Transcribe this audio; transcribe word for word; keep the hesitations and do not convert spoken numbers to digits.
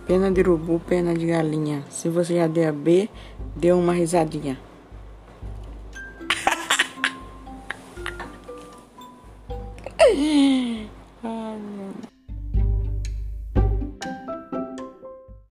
Pena de urubu, pena de galinha. Se você já deu a B, dê uma risadinha.